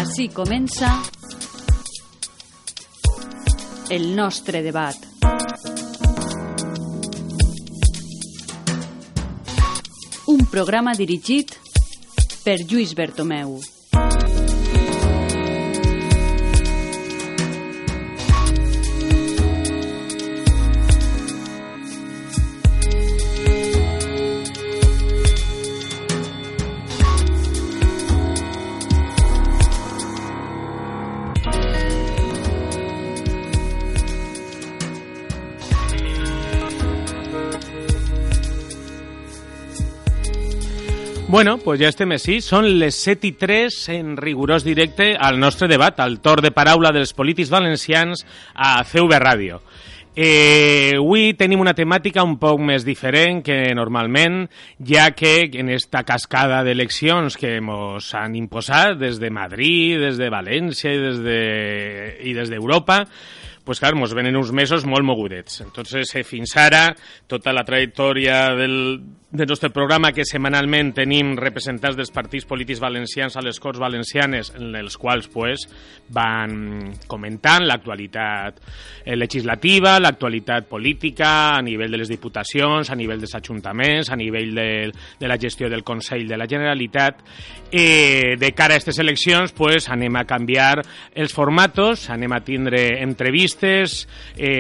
Així comença el nostre debat. Un programa dirigit per Lluís Bertomeu. Bueno, pues ja estem així. Són les 7:03 en rigorós directe al nostre debat, al torn de paraula dels polítics valencians a CV Ràdio. Avui tenim una temàtica un poc més diferent que normalment, ja que en esta cascada d'eleccions que ens han imposat des de Madrid, des de València i des d'Europa, pues clar, ens venen uns mesos molt mogudets. Entonces, fins ara, tota la trajectòria del nostre programa, que setmanalment tenim representants dels partits polítics valencians a les Corts Valencianes, en els quals pues, van comentant l'actualitat legislativa, l'actualitat política, a nivell de les diputacions, a nivell dels ajuntaments, a nivell de la gestió del Consell de la Generalitat. De cara a aquestes eleccions, pues, anem a canviar els formatos, anem a tindre entrevistes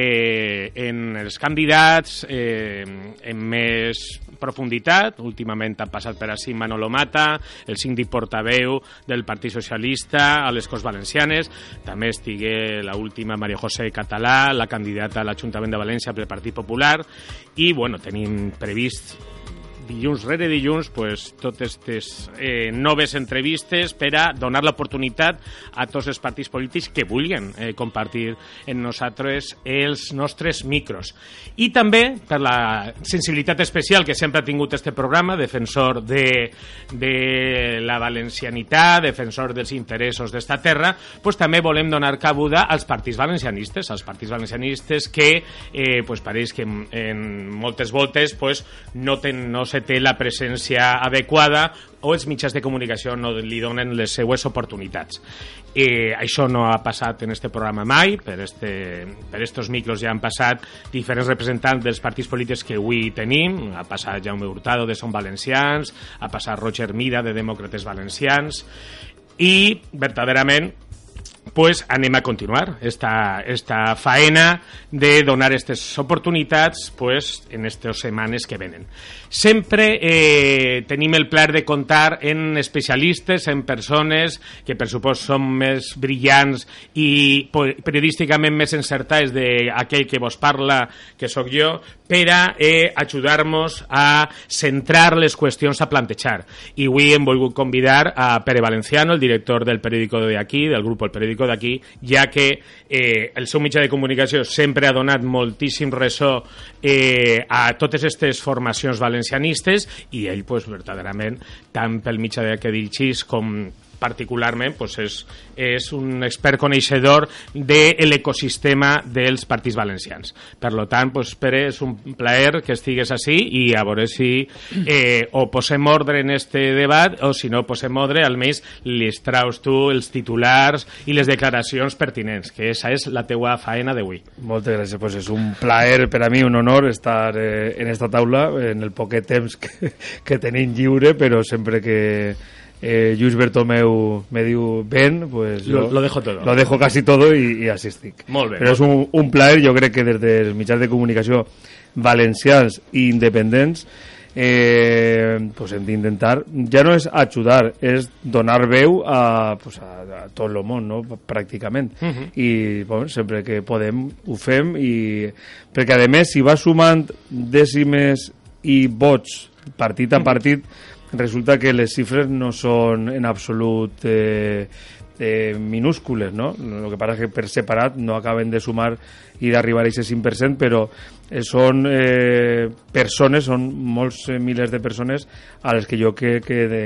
en els candidats, en més profunditat. Últimament ha passat per així Manolo Mata, el síndic portaveu del Partit Socialista a les Corts Valencianes, també estigué l'última María José Català, la candidata a l'Ajuntament de València pel Partit Popular, i bueno, tenim previst dilluns rere dilluns pues, totes aquestes noves entrevistes per a donar l'oportunitat a tots els partits polítics que vulguin compartir amb nosaltres els nostres micros. I també per la sensibilitat especial que sempre ha tingut este programa, defensor de la valencianitat, defensor dels interessos d'esta terra, pues, també volem donar cabuda als partits valencianistes, que pues, pareix que en moltes voltes pues, no se té la presència adequada o els mitjans de comunicació no li donen les seues oportunitats. Això no ha passat en este programa mai, per estos micros ja han passat diferents representants dels partits polítics que avui tenim, ha passat Jaume Hurtado de Som Valencians, ha passat Roger Mida de Demòcrates Valencians, i verdaderament pues anem a continuar esta faena de donar aquestes oportunitats pues, en aquestes setmanes que venen. Sempre tenim el plaer de comptar en especialistes, en persones que per supost són més brillants i periodísticament més encertades d'aquell que vos parla, que sóc jo, per a ajudar-nos a centrar les qüestions a plantejar. I avui hem volgut convidar a Pere Valenciano, el director del periòdico de aquí, del grup El Periódico d'aquí, ja que el seu mitjà de comunicació sempre ha donat moltíssim ressò a totes aquestes formacions valencianistes i ell, pues, verdaderament, tant pel mitjà que dirigís com particularment pues és un expert coneixedor de l'ecosistema dels partits valencians. Per tant, pues, Pere, és un plaer que estigues així i a veure si o posem ordre en este debat o si no posem ordre, almenys les traus tu els titulars i les declaracions pertinents, que esa és la teua faena d'avui. Moltes gràcies, pues és un plaer per a mi, un honor estar en esta taula en el poquet temps que tenim lliure, però sempre que Lluís Bertomeu me diu ven, pues lo dejo todo. Lo dejo casi todo y así estic. Molt bé. Però és un plaer, jo crec que des dels mitjans de comunicació valencians i independents pues hem d'intentar, ja no és ajudar, és donar veu a tot el món, no? Pràcticament. I bueno, sempre que podem ho fem, perquè a més si va sumant dècimes i vots partit a partit, resulta que les xifres no són en absolut minúscules, no? El que passa és que per separat no acaben de sumar i d'arribar a aquest 5%, però són persones, són molts milers de persones a les que jo crec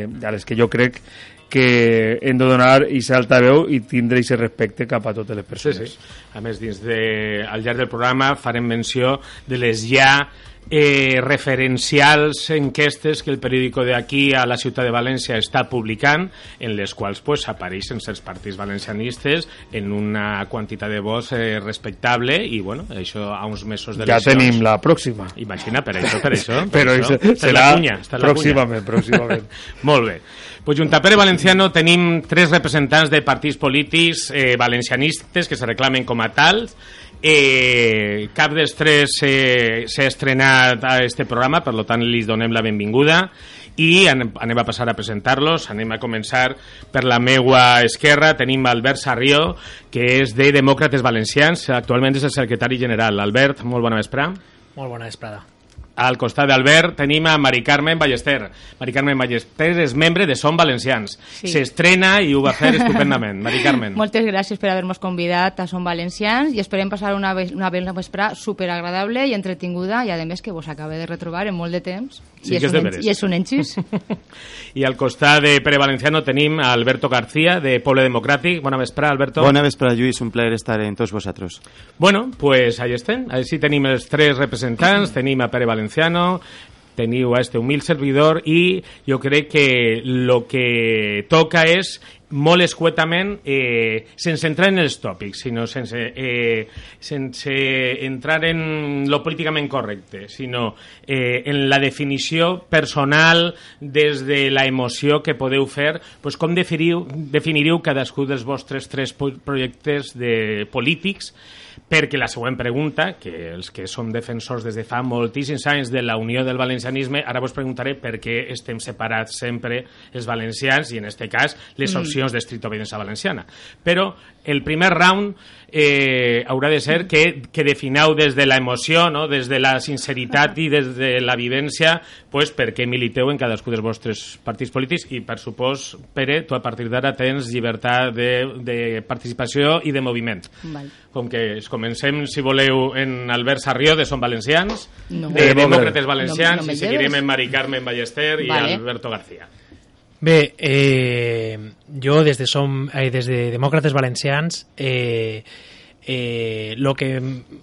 que hem de donar aquesta altaveu i tindre aquest respecte cap a totes les persones. Sí. A més, al llarg del programa farem menció de les ja referencials enquestes que el periòdico d'aquí a la ciutat de València està publicant, en les quals pues, apareixen els partits valencianistes en una quantitat de vots respectable i bueno, això a uns mesos d'eleccions. Ja tenim la pròxima. Imagina, per això. Però serà pròximament. Molt bé. Pues Junta Pere Valenciano tenim 3 representants de partits polítics valencianistes que se reclamen com a tals. Cap dels 3 s'ha estrenat a este programa, per tant li donem la benvinguda i anem a passar a presentar-los. Anem a començar per la meua esquerra. Tenim Albert Sarrió, que és de Demòcrates Valencians, actualment és el secretari general. Albert, molt bona vesprada. Molt bona vesprada. Al costat d'Albert tenim a Mari Carmen Ballester. Mari Carmen Ballester és membre de Som Valencians. Sí. S'estrena i ho va fer estupendament. Mari Carmen. Moltes gràcies per haver-nos convidat a Som Valencians i esperem passar una vesprada superagradable i entretinguda i a més que vos acabe de retrobar en molt de temps. Sí, i és un enxís. I al costat de Pere Valenciano tenim a Alberto García de Poble Democràtic. Bona vesprada, Alberto. Bona vesprada, Lluís. Un plaer estar en tots vosaltres. Bueno, pues ahí estem. Així tenim els 3 representants. Tenim a Pere Valenciano, teniu a este humil servidor i jo crec que lo que toca és molt escuetament, sense entrar en els tòpics, sinó sense entrar en lo políticament correcte, sinó en la definició personal des de la emoció que podeu fer, pues com definiríeu cadascú dels vostres 3 projectes polítics, perquè la següent pregunta, que els que som defensors des de fa moltíssims anys de la unió del valencianisme, ara vos preguntaré per què estem separats sempre els valencians i en este cas les opcions d'estricta obediència valenciana. Però el primer round haurà de ser que defineu des de la emoció, no? Des de la sinceritat i des de la vivència, pues, per què militeu en cadascú dels vostres partits polítics i, per supòs, Pere, tu a partir d'ara tens llibertat de participació i de moviment. Val. Com que comencem, si voleu, en Albert Sarrió, de Som Valencians, no. De Demòcrates Valencians, no i seguirem en Mari Carmen Ballester i Alberto García. Bé, jo des de Demòcrates Valencians lo que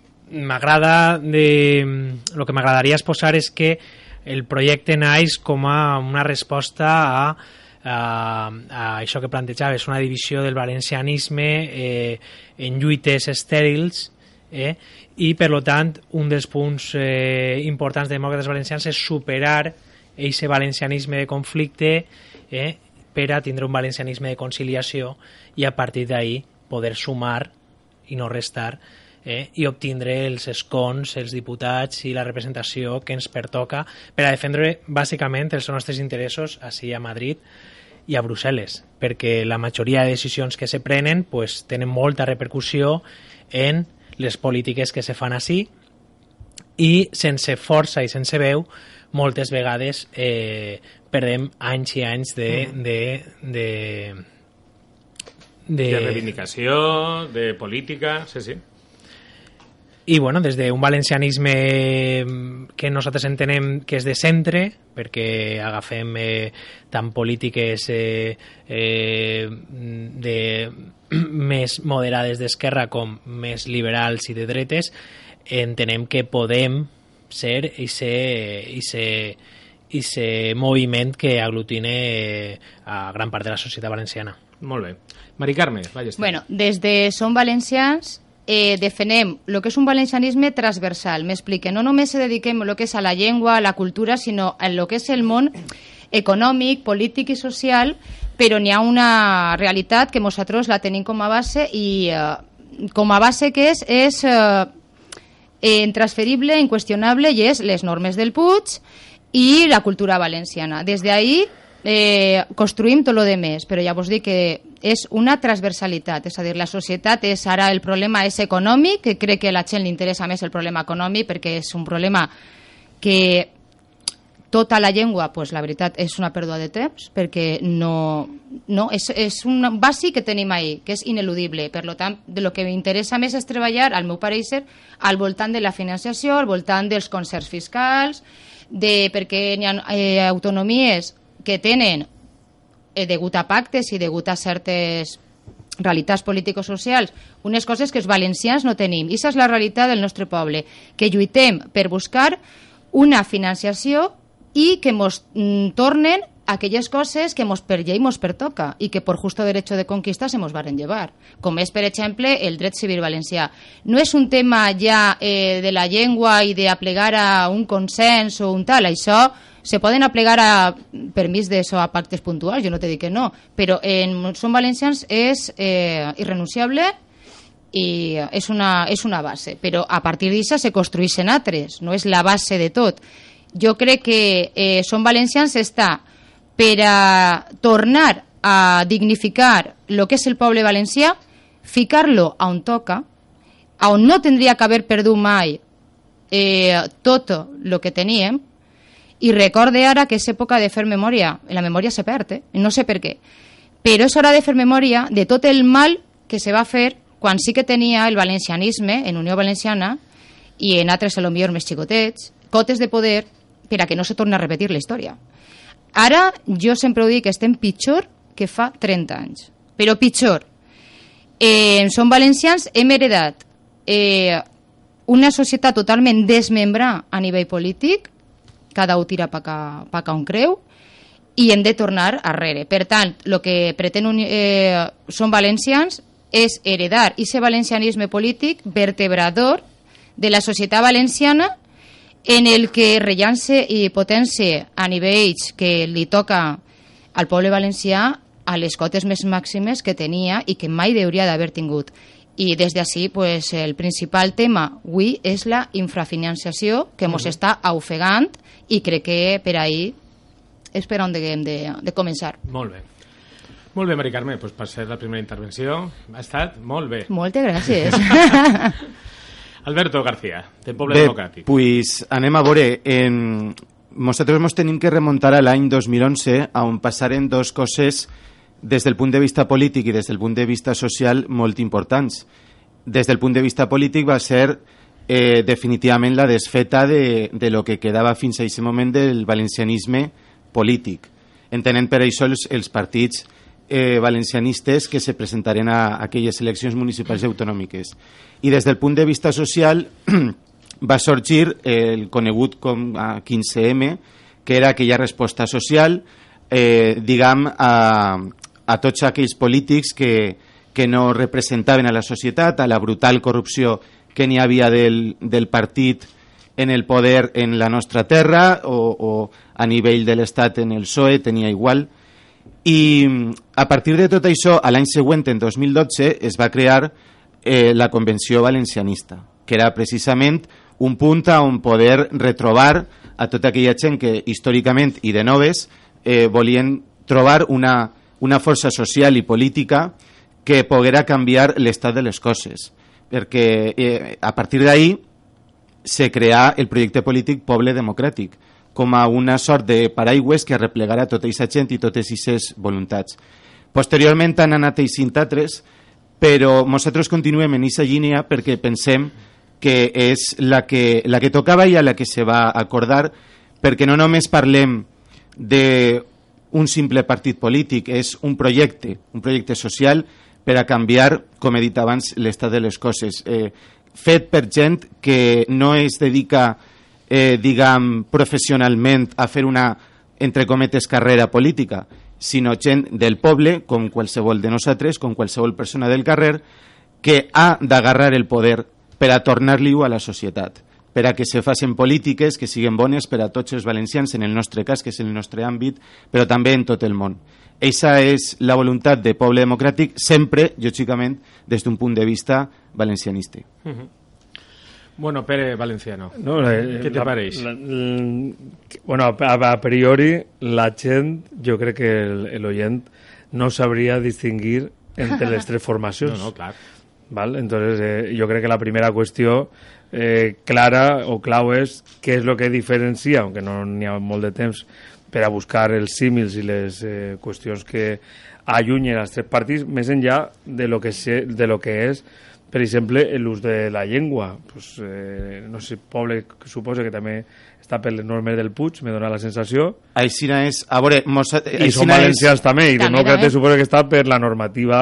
m'agradaria exposar és que el projecte naix com a una resposta a això que plantejaves, una divisió del valencianisme en lluites estèrils, i per tant un dels punts importants de Demòcrates Valencians és superar aquest valencianisme de conflicte per a tindre un valencianisme de conciliació i a partir d'ahí poder sumar i no restar i obtindre els escons, els diputats i la representació que ens pertoca per a defendre bàsicament els nostres interessos així a Madrid i a Brussel·les, perquè la majoria de decisions que se prenen pues, tenen molta repercussió en les polítiques que se fan així i sense força i sense veu moltes vegades perdem anys i anys de reivindicació, de política, sí. I bueno, des d'un valencianisme que nosaltres entenem que és de centre, perquè agafem tant polítiques més moderades d'esquerra com més liberals i de dretes, entenem que podem ser ese moviment que aglutine a gran part de la societat valenciana. Molt bé. Mari Carme, Ballester. Bueno, des de Som Valencians defenem el que és un valencianisme transversal. M'explique, no només se dediquem a lo que és a la llengua, a la cultura, sinó a lo que és el món econòmic, polític i social, però n'hi ha una realitat que nosaltres la tenim com a base i com a base que és intransferible, inqüestionable, i és les normes del Puig i la cultura valenciana. Des d'ahí construïm tot el de més, però ja vos dic que és una transversalitat, és a dir, la societat és ara el problema és econòmic, que crec que a la gent li interessa més el problema econòmic perquè és un problema que tota la llengua, pues, la veritat, és una pèrdua de temps, perquè no és un bàsic que tenim ahí, que és ineludible. Per tant, de lo que m'interessa més és treballar, al meu pareixer, al voltant de la financiació, al voltant dels concerts fiscals, perquè hi ha autonomies que tenen, degut a pactes i degut a certes realitats político-socials, unes coses que els valencians no tenim. I aquesta és la realitat del nostre poble, que lluitem per buscar una financiació i que mos tornen aquelles coses que mos per llei mos pertoca i que por justo derecho de conquista se mos varen llevar, com és, per exemple, el dret civil valencià. No és un tema ja de la llengua i d'aplegar a un consens o un tal, això se poden aplegar a permís d'això a pactes puntuals, jo no te dic que no, però en Som Valencians és irrenunciable i és una base, però a partir d'això se construeixen altres, no és la base de tot. Jo crec que Som Valencians està per a tornar a dignificar el que és el poble valencià, ficar-lo on toca, on no tindria que haver perdut mai tot el que teníem, i recorde ara que és època de fer memòria. La memòria se perd, no sé per què, però és hora de fer memòria de tot el mal que se va fer quan sí que tenia el valencianisme en Unió Valenciana i en altres, a lo millor més xicotets, cotes de poder per a que no se torni a repetir la història. Ara, jo sempre ho dic, que estem pitjor que fa 30 anys. Però pitjor. Som valencians, hem heredat una societat totalment desmembrada a nivell polític, cada un tira pa cá on creu, i hem de tornar arrere. Per tant, el que pretén Som Valencians és heredar aquest valencianisme polític vertebrador de la societat valenciana, en el que rellança i potència a nivells que li toca al poble valencià a les cotes més màximes que tenia i que mai hauria d'haver tingut. I des d'ací, pues, el principal tema avui és la infrafinanciació que ens està ofegant i crec que per ahir és per on hem de començar. Molt bé. Molt bé, Mari Carme, pues, per ser la primera intervenció ha estat molt bé. Moltes gràcies. Alberto García, del Poble Democràtic. Pues anem a veure, nosaltres ens tenim que remuntar a l'any 2011, on passaren dos coses des del punt de vista polític i des del punt de vista social molt importants. Des del punt de vista polític va ser definitivament la desfeta de lo que quedava fins a aquest moment del valencianisme polític. Entenent per això els partits valencianistes que se presentaren a aquelles eleccions municipals i autonòmiques. I des del punt de vista social va sorgir el conegut com a 15M, que era aquella resposta social a tots aquells polítics que no representaven a la societat, a la brutal corrupció que n'hi havia del partit en el poder en la nostra terra o a nivell de l'Estat en el PSOE, tenia igual. I a partir de tot això, a l'any següent, en 2012, es va crear la Convenció Valencianista, que era precisament un punt on poder retrobar a tota aquella gent que històricament i de noves volien trobar una força social i política que poguera canviar l'estat de les coses, perquè a partir d'ahí se creà el projecte polític Poble Democràtic com a una sort de paraigües que arreplegara tota aquesta gent i totes aquestes voluntats. Posteriorment han anat eixint altres, però nosaltres continuem en aquesta línia perquè pensem que és la que tocava i a la que se va acordar, perquè no només parlem d'un simple partit polític, és un projecte social per a canviar, com he dit abans, l'estat de les coses, fet per gent que no es dedica diguem, professionalment a fer una, entre cometes, carrera política, sinó gent del poble, com qualsevol de nosaltres, com qualsevol persona del carrer, que ha d'agarrar el poder per a tornar-li-ho a la societat, per a que se facin polítiques que siguin bones per a tots els valencians, en el nostre cas, que és el nostre àmbit, però també en tot el món. Eixa és la voluntat de Poble Democràtic, sempre, lògicament, des d'un punt de vista valencianista. Bueno, Pere Valenciano, no, què te pareix? Bueno, a priori, la gent, jo crec que l'oient no sabria distingir entre les tres formacions. No, clar. ¿Vale? Entonces, yo creo que la primera cuestión clara o clau és què és el que diferencia, aunque no n'hi ha molt de temps per a buscar els símils i les qüestions que allunyen els tres partits, més enllà de lo que és, per exemple, l'ús de la llengua. Pues, no sé, poble que suposa que també està per les normes del Puig, me dona la sensació. Aixina és... A veure, i som valencians també, i demòcrates suposa que està per la normativa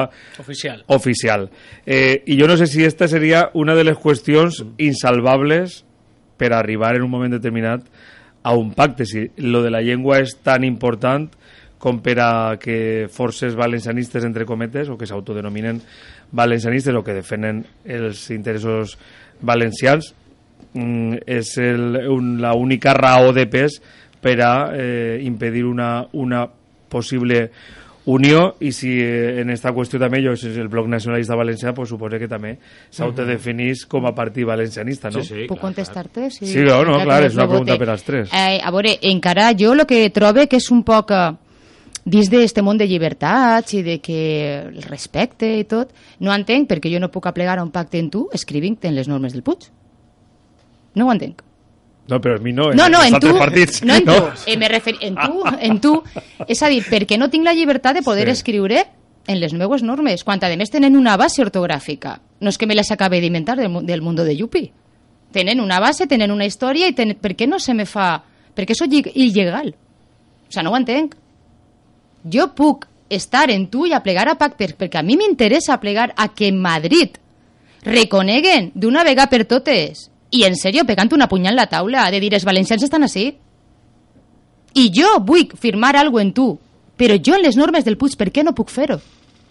oficial. I jo no sé si esta seria una de les qüestions insalvables per arribar en un moment determinat a un pacte. Si lo de la llengua és tan important com per a que forces valencianistes, entre cometes, o que s'autodenominen valencianistes o que defenen els interessos valencians, és la única raó de pes per a impedir una possible unió. I si en esta qüestió també el Bloc Nacionalista Valencià pues, suposa que també s'autodefinís com a partit valencianista, no? Sí, Puc contestar-te? Sí, no, clar, és una pregunta per als tres. A veure, encara jo el que trobo que és un poc dins d'aquest món de llibertats i de que el respecte i tot, no entenc perquè jo no puc aplegar un pacte en tu escrivint en les normes del Puig. No ho entenc. No, però a mi no, en tu, partits. No, en tu. En tu. És a dir, perquè no tinc la llibertat de poder escriure en les meues normes, quan a més tenen una base ortogràfica. No és que me les acabe d'inventar del Mundo de Yupi. Tenen una base, tenen una història, i per què no se me fa... Per què soc il·legal? O sigui, no ho entenc. Jo puc estar en tu i aplegar a pactes, perquè a mi m'interessa aplegar a que Madrid reconeguen d'una vegada per totes, i en sèrio, pegant una punyal a la taula, de dir, els valencians estan així. I jo vull firmar alguna cosa en tu, però jo en les normes del Puig, per què no puc fer-ho?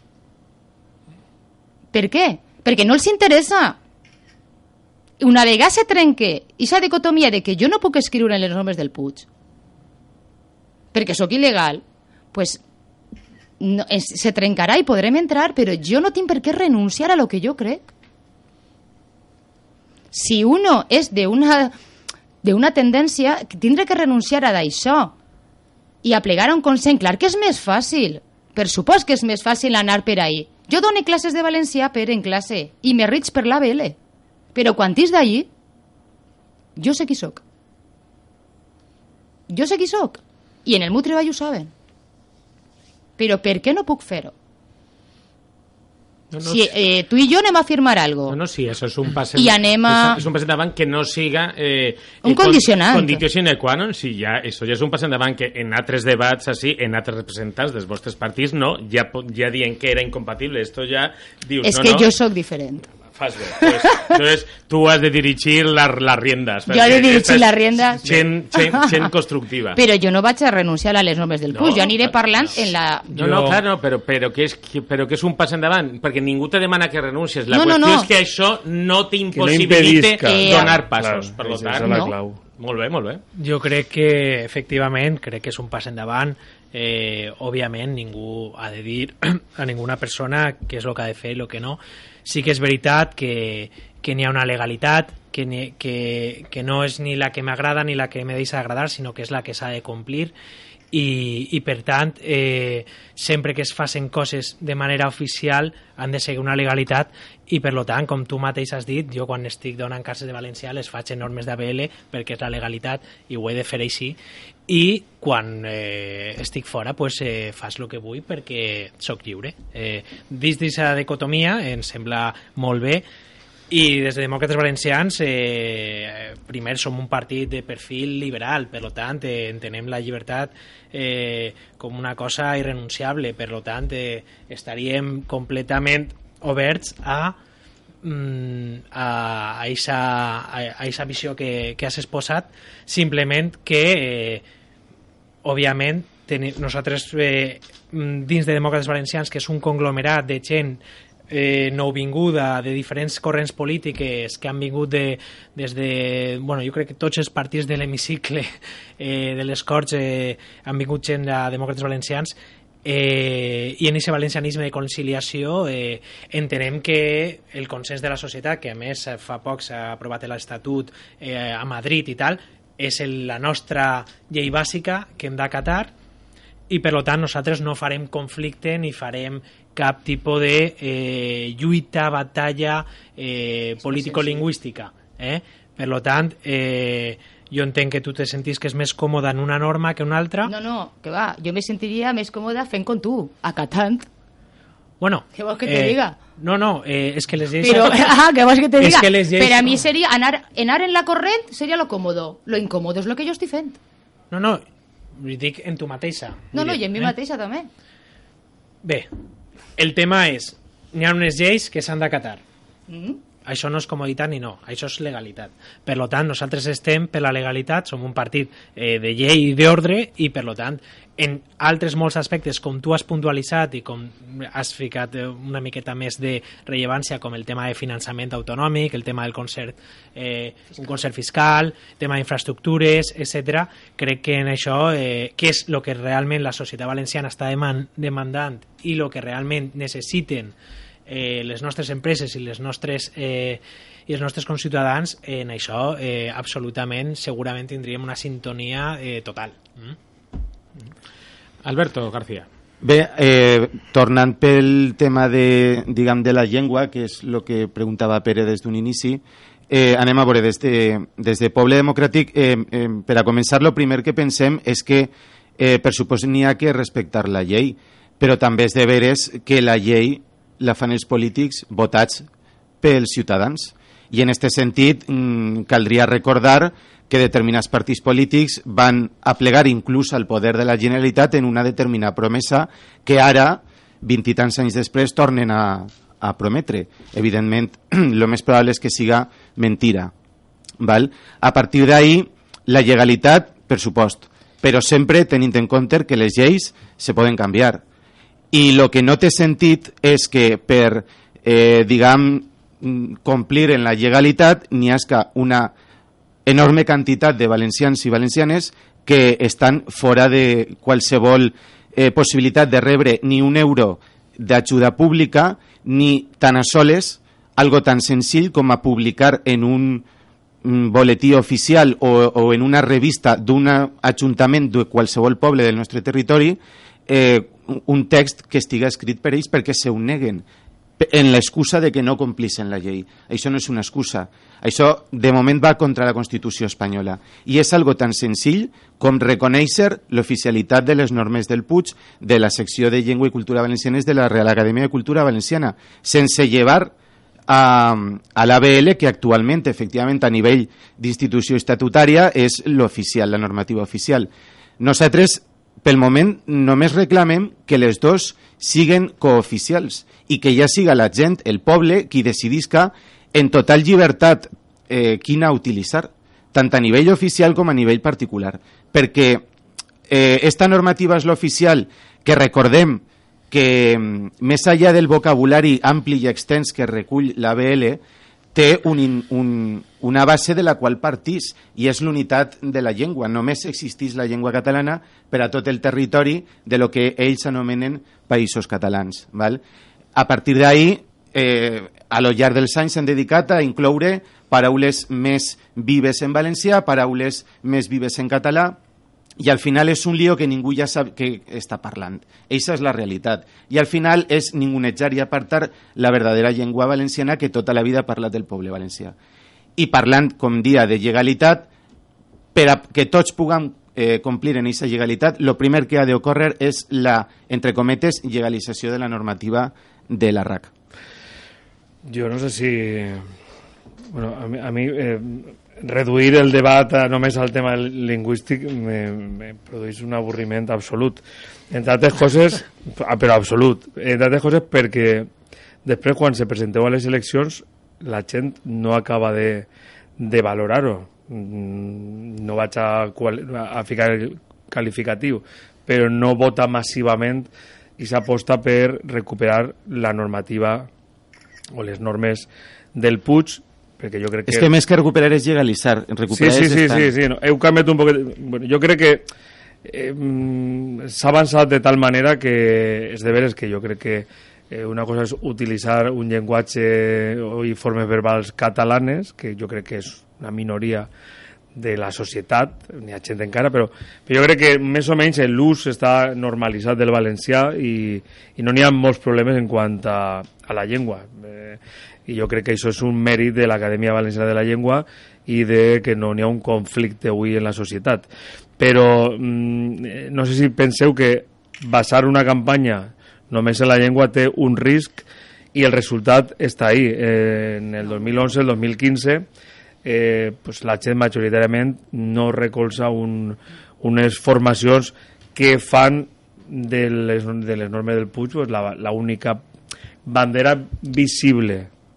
Per què? Perquè no els interessa. Una vegada se trenque aquesta dicotomia de que jo no puc escriure en les normes del Puig, perquè sóc il·legal, pues no, se trencarà i podrem entrar, però jo no tinc per què renunciar a lo que jo crec. Si uno és d'una tendència, tindrà que renunciar a d'això i aplegar a un consens. Clar que és més fàcil, per supost que és més fàcil anar per ahí. Jo dono classes de valencià en classe i me riig per l'ABL, però quan és d'ahí, jo sé qui soc. Jo sé qui soc. I en el meu treball ho saben. Però per què no puc fer-ho? No, si tu i jo anem a firmar algo. No, sí, eso es un paso. I anem a... És un pas endavant que no siga... un condicionant. Conditio sine qua non, si ja, això ja és un pas endavant que en altres debats, així, en altres representants dels vostres partits, no, ja dient que era incompatible. Esto ja dius, és que jo sóc diferent. Fas bé. Pues, entonces, tú has de dirigir las riendas. Jo he de dirigir les riendas. Gent constructiva. Però jo no vaig a renunciar a les normes del Puig. Jo aniré parlant en la... No, clar, però que és un pas endavant, perquè ningú te demana que renuncies. La qüestió és que això no t'impossibilite donar passos. Per lo tant, no. Molt bé. Jo crec que, efectivament, és un pas endavant. Òbviament, ningú ha de dir a ninguna persona què és el que ha de fer i el que no. Sí que és veritat que n'hi ha una legalitat, que no és ni la que m'agrada ni la que me deixa agradar, sinó que és la que s'ha de complir. I per tant, sempre que es facin coses de manera oficial han de seguir una legalitat i per tant, com tu mateix has dit, jo quan estic donant classes de valencià les faig en normes d'ABL perquè és la legalitat i ho he de fer així, i quan estic fora pues, faig el que vull perquè sóc lliure. Dins d'aquesta dicotomia em sembla molt bé. I des de Demòcrates Valencians primer som un partit de perfil liberal, per tant entenem la llibertat com una cosa irrenunciable, per tant estaríem completament oberts a aquesta visió que has exposat, simplement que òbviament nosaltres dins de Demòcrates Valencians, que és un conglomerat de gent nouvinguda de diferents corrents polítiques que han vingut des de... Bueno, jo crec que tots els partits de l'hemicicle de les Corts han vingut gent de Demòcrates Valencians i en aquest valencianisme de conciliació entenem que el consens de la societat, que a més fa poc s'ha aprovat l'Estatut a Madrid i tal, és la nostra llei bàsica que hem d'acatar i per tant nosaltres no farem conflicte ni farem cap tipus de lluita, batalla político-lingüística. Per tant, jo entenc que tu te sentís que és més còmode en una norma que en una altra. No, que va, jo me sentiria més còmoda fent com tu, acatant. Bueno, què vols que te diga? No, és que les lleis... Però, què vols que te diga? Que les lleis... Per a mi seria anar en la corrent seria lo còmodo. Lo incòmodo és lo que jo estic fent. No, dic en tu mateixa. No, i en mi mateixa també. Bé, el tema és, n'hi ha unes lleis que s'han d'acatar. això no és comoditat ni no, això és legalitat. Per tant, nosaltres estem per la legalitat, som un partit de llei i d'ordre, i per tant, en altres molts aspectes, com tu has puntualitzat i com has ficat una miqueta més de rellevància, com el tema de finançament autonòmic, el tema del concert, un concert fiscal, tema d'infraestructures, etc. Crec que en això, que és el que realment la societat valenciana està demandant i el que realment necessiten les nostres empreses i els nostres conciutadans, en això absolutament, segurament tindríem una sintonia total. Alberto García. Bé, tornant pel tema de la llengua, que és el que preguntava Pere des d'un inici, anem a veure, des de Poble Democràtic, per a començar, el primer que pensem és que, per supost, n'hi ha que respectar la llei, però també és de veres que la llei la fan els polítics votats pels ciutadans. I en aquest sentit caldria recordar que determinats partits polítics van aplegar inclús al poder de la Generalitat en una determinada promesa que ara, 20 i tants anys després, tornen a prometre. Evidentment, el més probable és que siga mentira. Val? A partir d'ahí, la legalitat, per supost, però sempre tenint en compte que les lleis se poden canviar. I el que no té sentit és que per, complir en la legalitat n'hi hagi una enorme quantitat de valencians i valencianes que estan fora de qualsevol possibilitat de rebre ni un euro d'ajuda pública, ni tan a soles algo tan senzill com a publicar en un boletí oficial o en una revista d'un ajuntament de qualsevol poble del nostre territori un text que estiga escrit per ells perquè se ho neguen en l'excusa de que no complixen la llei. Això no és una excusa. Això, de moment, va contra la Constitució espanyola. I és algo tan senzill com reconèixer l'oficialitat de les normes del Puig de la secció de Llengua i Cultura Valencianes de la Real Acadèmia de Cultura Valenciana, sense llevar a l'ABL, que actualment, efectivament, a nivell d'institució estatutària, és l'oficial, la normativa oficial. Nosaltres, pel moment, només reclamem que les dos siguen cooficials i que ja siga la gent, el poble, qui decidisca en total llibertat quina utilitzar, tant a nivell oficial com a nivell particular. Perquè esta normativa és l'oficial, que recordem que més enllà del vocabulari ampli i extens que recull l'ABL, té una base de la qual partís, i és l'unitat de la llengua. Només existeix la llengua catalana per a tot el territori de lo que ells anomenen països catalans. Val? A partir d'ahí, a lo llarg dels anys s'han dedicat a incloure paraules més vives en valencià, paraules més vives en català, i al final és un lío que ningú ja sap què està parlant. Eixa és la realitat. I al final és ningunejar i apartar la verdadera llengua valenciana que tota la vida ha parlat del poble valencià. I parlant, com dia, de legalitat, per a que tots puguem complir en aquesta legalitat, el primer que ha d'ocórrer és la, entre cometes, legalització de la normativa de la RAC. Jo no sé si... Bueno, a mi reduir el debat només al tema lingüístic me produeix un avorriment absolut. Entre altres coses, però absolut, entre altres coses perquè després quan se presenteu a les eleccions la gent no acaba de valorar-ho. No vaig a ficar el qualificatiu, però no vota massivament i s'aposta per recuperar la normativa o les normes del Puig, perquè jo crec que... És que més que recuperar és legalitzar. Recuperar sí, no. Heu canviat un poc... Bueno, jo crec que s'ha avançat de tal manera que és de veres que jo crec que una cosa és utilitzar un llenguatge i formes verbals catalanes, que jo crec que és una minoria de la societat, n'hi ha gent encara, però jo crec que més o menys l'ús està normalitzat del valencià i no n'hi ha molts problemes en quant a la llengua. I jo crec que això és un mèrit de l'Acadèmia Valenciana de la Llengua i de que no n'hi ha un conflicte avui en la societat. Però no sé si penseu que basar una campanya només en la llengua té un risc i el resultat està ahí. En el 2011, el 2015, pues la gent majoritàriament no recolza unes formacions que fan de les normes del Puig pues, la única bandera visible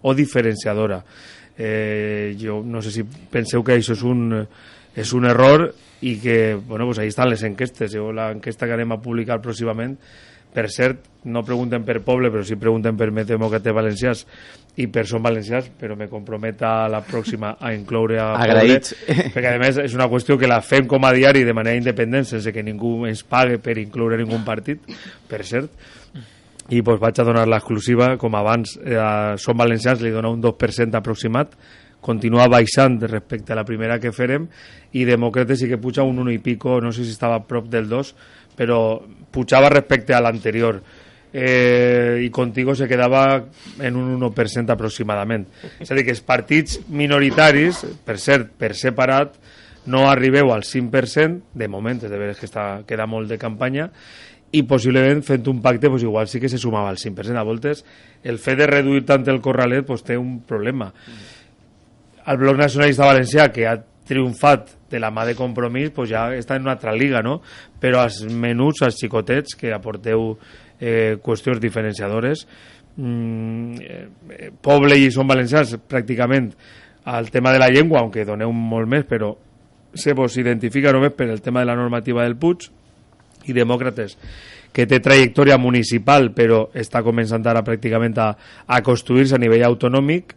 o diferenciadora. Jo no sé si penseu que això és un error i que, bueno, pues ahí estan les enquestes. L'enquesta que anem a publicar pròximament, per cert, no pregunten per poble, però sí pregunten per Més Demòcrates Valencians i per Som Valencians, però me compromet a la pròxima a incloure a Agraïts. poble, perquè a més és una qüestió que la fem com a diari de manera independent, sense que ningú ens pague per incloure ningú partit, per cert. I pues, vaig a donar l'exclusiva, com abans a Som Valencians li dona un 2% aproximat, continua baixant respecte a la primera que farem, i Demòcrates sí que puja un 1 i pico, no sé si estava a prop del 2, però pujava respecte a l'anterior, i Contigo se quedava en un 1% aproximadament. És a dir, que els partits minoritaris, per cert, per separat, no arribeu al 5%, de moment, és de veres que queda molt de campanya, i possiblement fent un pacte pues, igual sí que se sumava al 5%. A voltes el fet de reduir tant el corralet pues, té un problema. El Bloc Nacionalista Valencià, que ha triomfat de la mà de Compromís, pues, ja està en una altra liga, no? Però als menuts, als xicotets, que aporteu qüestions diferenciadores, Poble i Som Valencians pràcticament al tema de la llengua, aunque doneu molt més, però se vos identifica només per el tema de la normativa del Puig, i Demòcrates, que té trajectòria municipal però està començant ara pràcticament a construir-se a nivell autonòmic,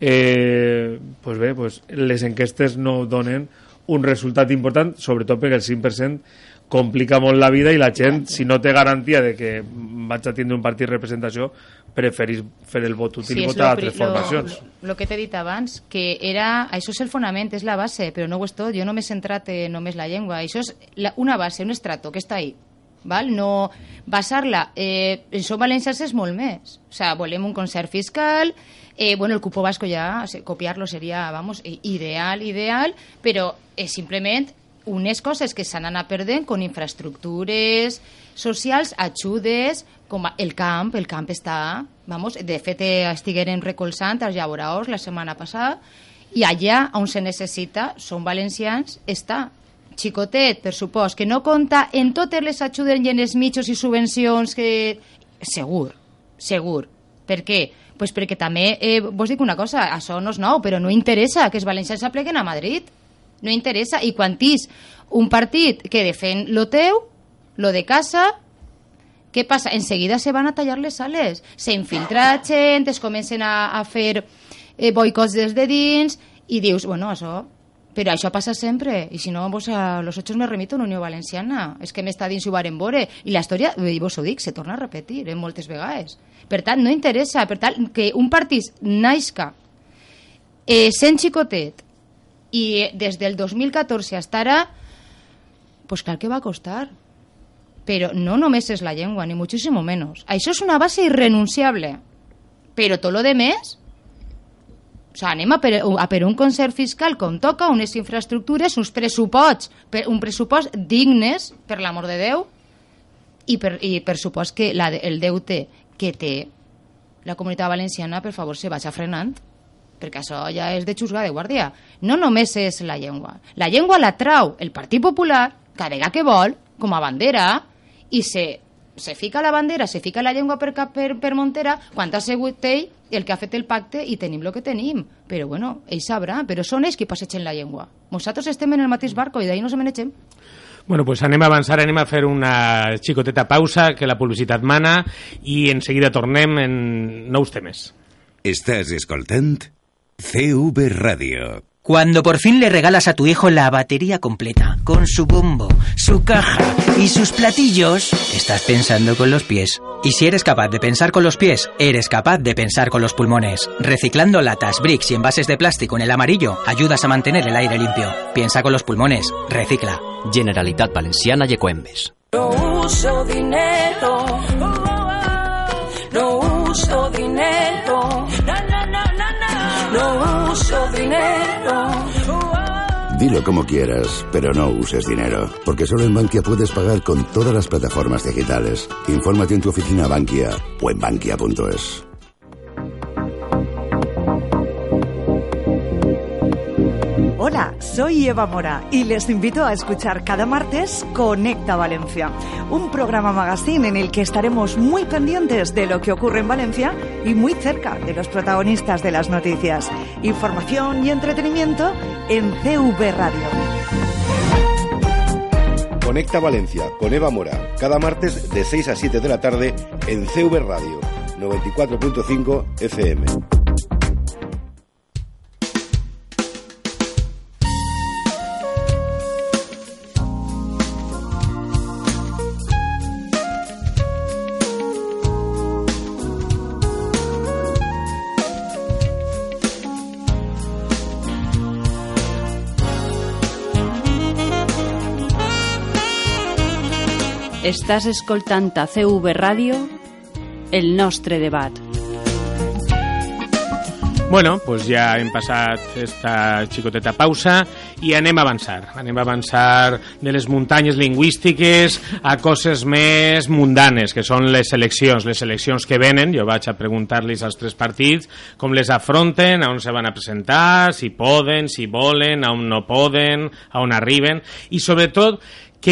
pues bé, pues les enquestes no donen un resultat important, sobretot perquè el 5% complica molt la vida i la gent, si no té garantia de que vaig a tindre un partit de representació, preferís fer el vot útil i votar altres formacions. Lo que t'he dit abans, que això és el fonament, és la base, però no ho és tot. Jo no m'he centrat només la llengua. Això és una base, un estrato que està ahí. Val? No basar-la en Som Valencians és molt més. O sea, volem un concert fiscal, bueno, el cupo vasco ja, copiar-lo seria, vamos, ideal, però simplement unes coses que s'han anat perdent con infraestructures socials, ajudes, com el camp està, vamos, de fet estigueren recolzant els llaboraors la setmana passada, i allà on se necessita Som Valencians està. Xicotet, per supost, que no compta en totes les ajudes i en els mitjos i subvencions que... Segur. Per què? Pues perquè també, vos dic una cosa, això no és nou, però no interessa que els valencians s'apleguen a Madrid. No interessa. I quan tens un partit que defèn lo teu, lo de casa, què passa? Enseguida se van a tallar les sales. S'infiltra gent, es comencen a fer boicots des de dins, i dius, bueno, això... Però això passa sempre, i si no, vos a los hechos me remito a una Unió Valenciana. És que m'està dins ho varen veure. I la història, i vos ho dic, se torna a repetir moltes vegades. Per tant, no interessa. Per tant, que un partit naixca sent xicotet i des del 2014 fins ara, pues clar que va costar. Però no només és la llengua, ni muchísimo menos. Això és una base irrenunciable. Però tot lo de més... O sea, anem a per un concert fiscal com toca, unes infraestructures, uns pressuposts, un pressupost dignes, per l'amor de Déu, i per supost que el deute que té la Comunitat Valenciana, per favor, se vagi frenant, perquè això ja és de xusgar de guàrdia. No només és la llengua. La llengua la trau el Partit Popular, cada vegada que vol, com a bandera, i se fica la bandera, se fica la llengua per Montera, quan ha sigut ell el que ha fet el pacte i tenim el que tenim. Però bueno, ell sabrà, però són ells qui passegen la llengua. Nosaltres estem en el mateix barco i d'ahir no se menegem. Bueno, pues anem a avançar, anem a fer una xicoteta pausa, que la publicitat mana, i en seguida tornem en nous temes. Estàs escoltant CV Radio. Cuando por fin le regalas a tu hijo la batería completa, con su bombo, su caja y sus platillos, estás pensando con los pies. Y si eres capaz de pensar con los pies, eres capaz de pensar con los pulmones. Reciclando latas, bricks y envases de plástico en el amarillo, ayudas a mantener el aire limpio. Piensa con los pulmones, recicla. Generalitat Valenciana y Ecoembes. No uso dinero, no uso dinero, no uso dinero. Dilo como quieras, pero no uses dinero, porque solo en Bankia puedes pagar con todas las plataformas digitales. Infórmate en tu oficina Bankia o en bankia.es. Hola, soy Soy Eva Mora y les invito a escuchar cada martes Conecta Valencia, un programa magazine en el que estaremos muy pendientes de lo que ocurre en Valencia y muy cerca de los protagonistas de las noticias. Información y entretenimiento en CV Radio. Conecta Valencia con Eva Mora, cada martes de 6 a 7 de la tarde en CV Radio 94.5 FM. Estàs escoltant a CV Ràdio el nostre debat. Bueno, pues ja hem passat esta xicoteta pausa i anem a avançar. Anem a avançar de les muntanyes lingüístiques a coses més mundanes, que són les eleccions que venen. Jo vaig a preguntar-los als tres partits com les afronten, a on se van a presentar, si poden, si volen, a on no poden, a on arriben, i sobretot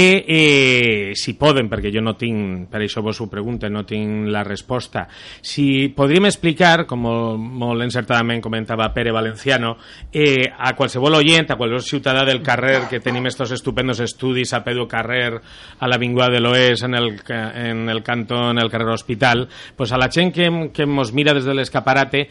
que si poden, perquè jo no tinc, per això vos ho pregunto, no tinc la resposta, si podríem explicar, com molt encertadament comentava Pere Valenciano, a qualsevol oient, a qualsevol ciutadà del carrer, que tenim estos estupendos estudis a Pedro Carrer, a l'Avinguda de l'Oest, en el cantó, en el carrer Hospital, pues a la gent que mos mira des de l'escaparate,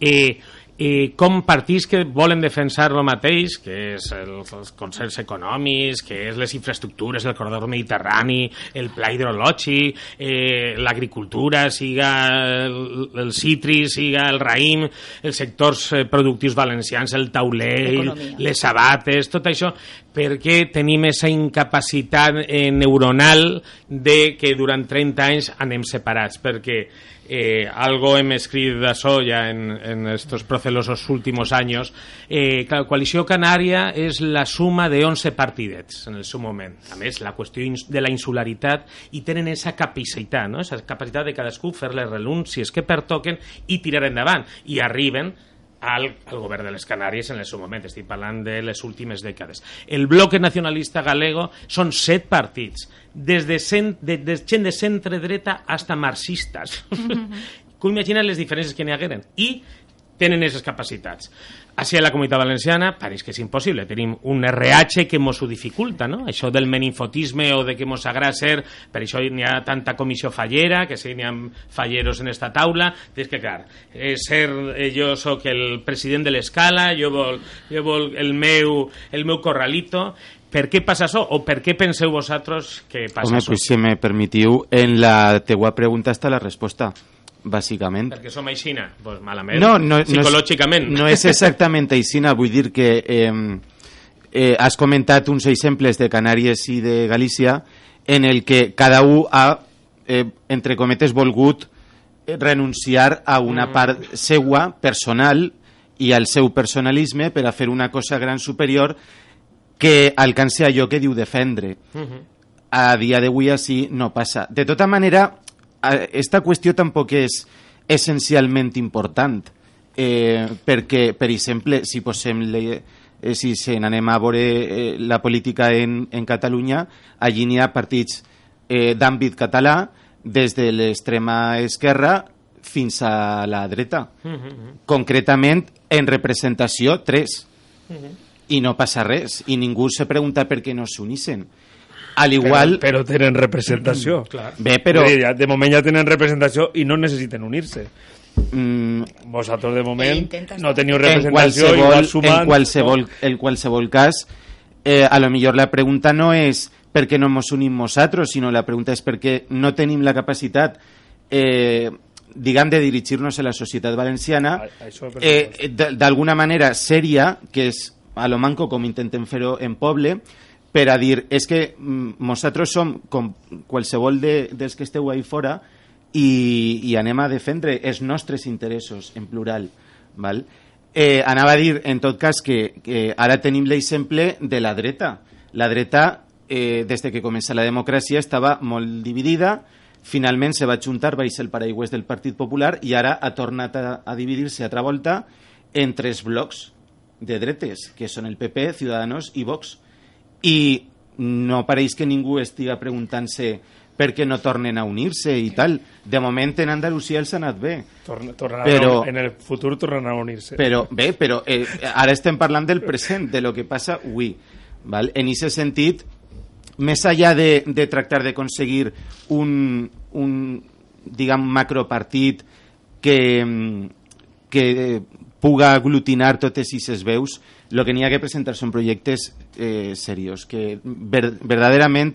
com partits que volen defensar el mateix, que és els concerts econòmics, que és les infraestructures, el corredor mediterrani, el pla hidrològic, l'agricultura, siga el citris, siga el raïm, els sectors productius valencians, el tauler, les sabates, tot això, perquè tenim aquesta incapacitat neuronal de que durant 30 anys anem separats, perquè algo hem escrit d'això ja en estos procelosos últimos años. La coalició canària és la suma de 11 partidets en el seu moment. A més, la qüestió de la insularitat, i tenen aquesta capacitat, no? Esa capacitat de cadascú fer-les renúncies que pertoquen i tirar endavant, i arriben al govern de les Canàries en el seu moment. Estic parlant de les últimes dècades. El bloque nacionalista galego són 7 partits, des de gent de centre-dreta hasta marxistes. Que imaginen les diferències que n'hi hagueren. I tenen aquestes capacitats. Així a la Comunitat Valenciana pareix que és impossible. Tenim un RH que mos ho dificulta, no? Això del meninfotisme o de que mos agrada ser, per això n'hi ha tanta comissió fallera, que sí, n'hi ha falleros en esta taula. És que, clar, jo soc el president de l'escala, jo vol el meu corralito. Per què passa això? O per què penseu vosaltres que passa això? Home, pues, si me permitiu, en la teua pregunta està la resposta. Bàsicament. Perquè som aixina? Pues malament. Psicològicament. No és exactament aixina, vull dir que has comentat uns exemples de Canàries i de Galícia en el que cada un ha, entre cometes, volgut renunciar a una part seua, personal, i al seu personalisme per a fer una cosa gran superior que alcance allò que diu defendre. A dia d'avui així no passa. De tota manera, esta qüestió tampoc és essencialment important, perquè, per exemple, si anem a veure la política en Catalunya, allí n'hi ha partits d'àmbit català, des de l'extrema esquerra fins a la dreta. Concretament, en representació, 3. I no passa res, i ningú se pregunta per què no s'unissen. Al igual... Però tenen representació. Bé, però... De moment ja tenen representació i no necessiten unir-se. Vosaltres de moment no teniu representació i igual sumant... En qualsevol cas, a lo millor la pregunta no és per què no ens unim nosaltres, sinó la pregunta és perquè no tenim la capacitat diguem, de dirigir-nos a la societat valenciana d'alguna manera sèria, que és a lo manco com intentem fer-ho en poble, per a dir, és que nosaltres som com qualsevol dels que esteu ahí fora i anem a defendre els nostres interessos en plural. Val? Anava a dir, en tot cas, que ara tenim l'exemple de la dreta. La dreta, des que comença la democràcia, estava molt dividida, finalment se va juntar baix el paraigües del Partit Popular i ara ha tornat a dividir-se altra volta en 3 blocs. de dretes, que són el PP, Ciudadanos i Vox. I no pareix que ningú estiga preguntant-se per què no tornen a unir-se i tal. De moment en Andalusia els ha anat bé. En el futur tornaran a unir-se. Però ara estem parlant del present, de lo que passa avui. Val? En aquest sentit, més enllà de tractar d'aconseguir un diguem, macropartit que puga aglutinar totes aquestes veus, el que n'hi ha que presentar són projectes serios, que verdaderament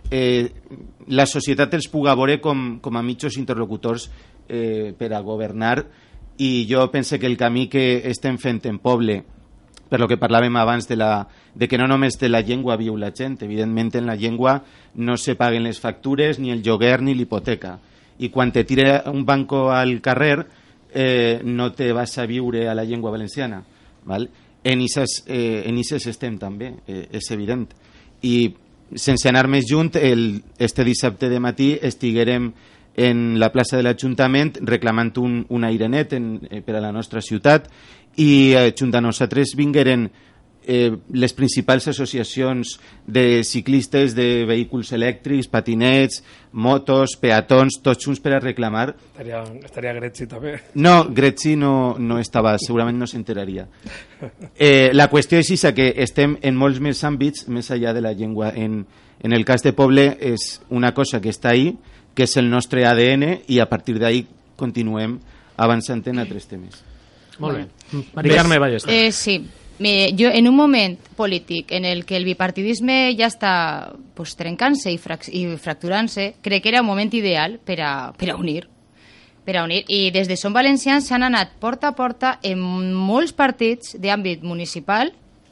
la societat els puga veure com a mitjos interlocutors per a governar, i jo penso que el camí que estem fent en poble, per lo que parlàvem abans de que no només de la llengua viu la gent, evidentment en la llengua no se paguen les factures, ni el lloguer ni l'hipoteca, i quan te tira un banco al carrer no te vas a viure a la llengua valenciana, val? En ixes estem també, és evident. I sense anar més junt, este dissabte de matí estiguérem en la plaça de l'Ajuntament reclamant un aire net per a la nostra ciutat, i junt a nosaltres vingueren les principals associacions de ciclistes, de vehicles elèctrics, patinets, motos, peatons, tots junts per a reclamar. Estaria Gretzi també. No, Gretzi no estava, segurament no s'enteraria. La qüestió és que estem en molts més àmbits, més enllà de la llengua. En el cas de Poble és una cosa que està ahí, que és el nostre ADN, i a partir d'ahí continuem avançant en altres temes. Molt bé. Mari Carme Ballester. Sí. Jo, en un moment polític en el que el bipartidisme ja està trencant-se i fracturant-se, crec que era un moment ideal per a unir. I des de Som Valencians s'han anat porta a porta en molts partits d'àmbit municipal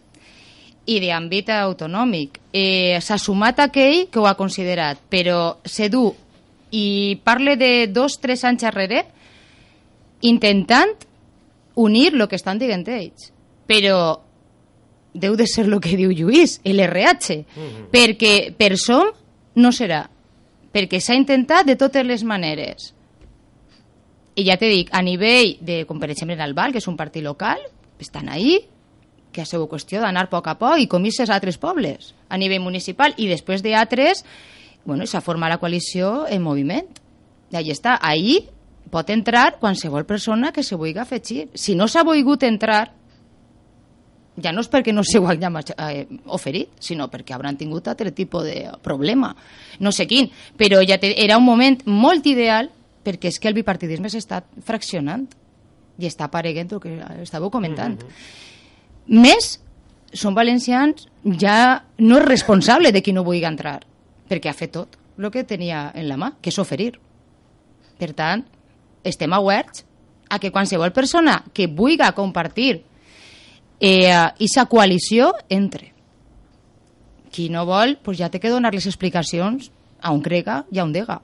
i d'àmbit autonòmic. S'ha sumat aquell que ho ha considerat, però se du, i parle de 2-3 anys enrere, intentant unir el que estan dient ells. Però deu de ser el que diu Lluís, l'RH, perquè per Som no serà, perquè s'ha intentat de totes les maneres. I ja te dic, a nivell de, com per exemple en el Val, que és un partit local, estan ahí, que ha sigut qüestió d'anar a poc i com-se a altres pobles, a nivell municipal, i després d'altres, s'ha format la coalició en moviment. I allà està, ahí pot entrar qualsevol persona que se vulgui afegir. Si no s'ha volgut entrar, ja no és perquè no s'ho hagin oferit, sinó perquè hauran tingut altre tipus de problema. No sé quin, però ja era un moment molt ideal, perquè és que el bipartidisme s'està fraccionant i està apareguent el que estàveu comentant. Més, Som Valencians ja no és responsable de qui no vulgui entrar, perquè ha fet tot el que tenia en la mà, que és oferir. Per tant, estem oberts a que qualsevol persona que vulgui compartir aquesta coalició entre. Qui no vol, ja té que donar les explicacions a un crega i a un dega.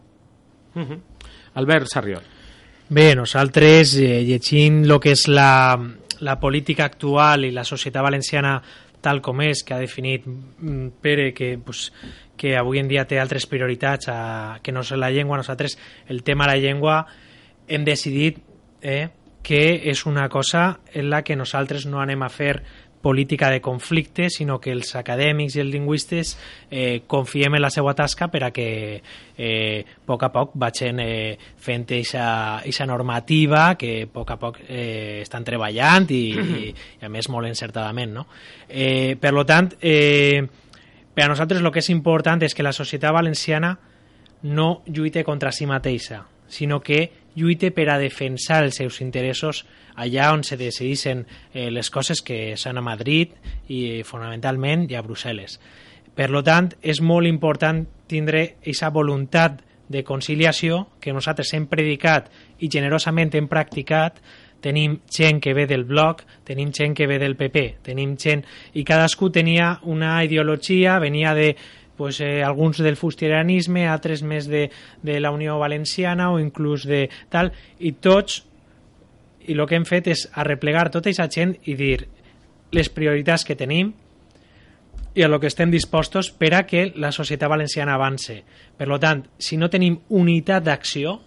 Albert Sarriol. Bé, nosaltres llegint el que és la política actual i la societat valenciana tal com és, que ha definit Pere, que avui en dia té altres prioritats que no és la llengua, nosaltres el tema de la llengua hem decidit que és una cosa en la que nosaltres no anem a fer política de conflicte, sinó que els acadèmics i els lingüistes confiem en la seva tasca per a que a poc vagin fent aquesta normativa que a poc estan treballant i a més molt encertadament, no? Per tant, per a nosaltres el que és important és que la societat valenciana no lluite contra si mateixa, sinó que lluite per a defensar els seus interessos allà on se decideixen les coses, que són a Madrid i fonamentalment i a Brussel·les. Per tant, és molt important tindre aquesta voluntat de conciliació que nosaltres hem predicat i generosament hem practicat. Tenim gent que ve del Bloc, tenim gent que ve del PP, tenim gent, i cadascú tenia una ideologia, venia de alguns del fustirianisme, altres més de la Unió Valenciana o inclús de tal, i tots, i el que hem fet és arreplegar tota aquesta gent i dir les prioritats que tenim i a lo que estem dispostos per a que la societat valenciana avance. Per tant, si no tenim unitat d'acció,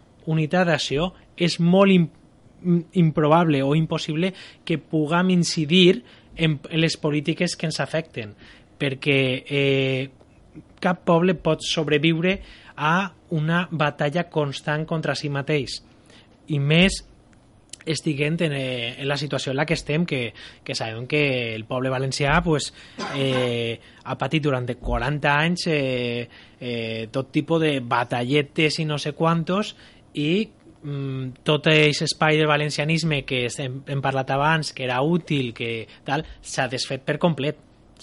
és molt improbable o impossible que puguem incidir en les polítiques que ens afecten, perquè cap poble pot sobreviure a una batalla constant contra si mateix, i més estiguent en la situació en la que estem, que sabem que el poble valencià ha patit durant 40 anys tot tipus de batalletes i no sé quantos, i tot aquest espai del valencianisme que hem parlat abans, que era útil, que tal, s'ha desfet per complet.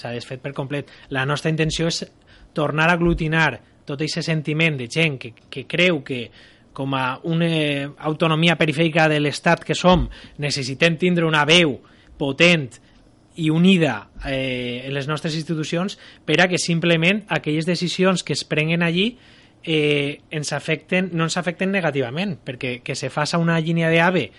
La nostra intenció és tornar a aglutinar tot aquest sentiment de gent que creu que com a una autonomia perifèrica de l'Estat que som, necessitem tindre una veu potent i unida en les nostres institucions per a que simplement aquelles decisions que es prenguen allí no ens afecten negativament, perquè que se faça una línia d'AVE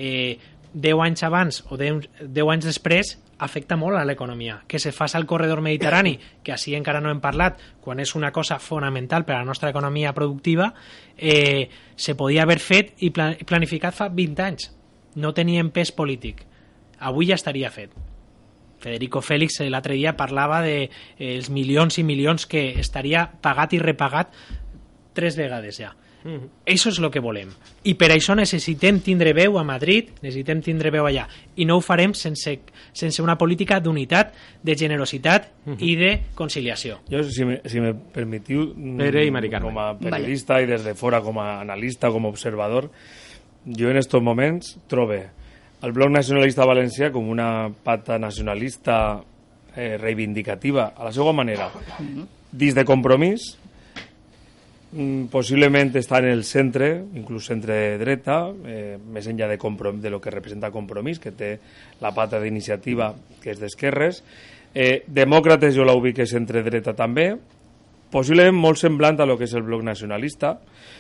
10 anys abans o 10 anys després afecta molt a l'economia. Que se faça el corredor mediterrani, que així encara no hem parlat, quan és una cosa fonamental per a la nostra economia productiva, se podia haver fet i planificat fa 20 anys. No tenien pes polític. Avui ja estaria fet. Federico Félix l'altre dia parlava dels milions i milions que estaria pagat i repagat 3 vegades ja. Això és el que volem, i per això necessitem tindre veu a Madrid, necessitem tindre veu allà, i no ho farem sense una política d'unitat, de generositat i de conciliació. Jo, si me permitiu, com a periodista i des de fora com a analista, com a observador, jo en estos moments trobe el Bloc Nacionalista Valencià com una pata nacionalista reivindicativa a la seva manera, dins de Compromís, possiblement està en el centre, inclús centre-dreta, més enllà de lo que representa Compromís, que té la pata d'iniciativa, que és d'esquerres. Demòcrates jo l'ubique centre-dreta també, possiblement molt semblant a lo que és el Bloc Nacionalista,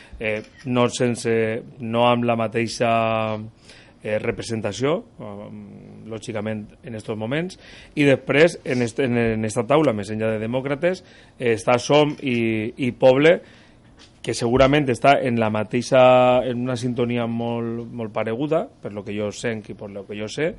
no amb la mateixa representació, lògicament en aquests moments, i després en esta taula, més enllà de Demòcrates, està Som i Poble, que segurament està en una sintonia molt pareguda, per lo que jo sent i per lo que jo sé,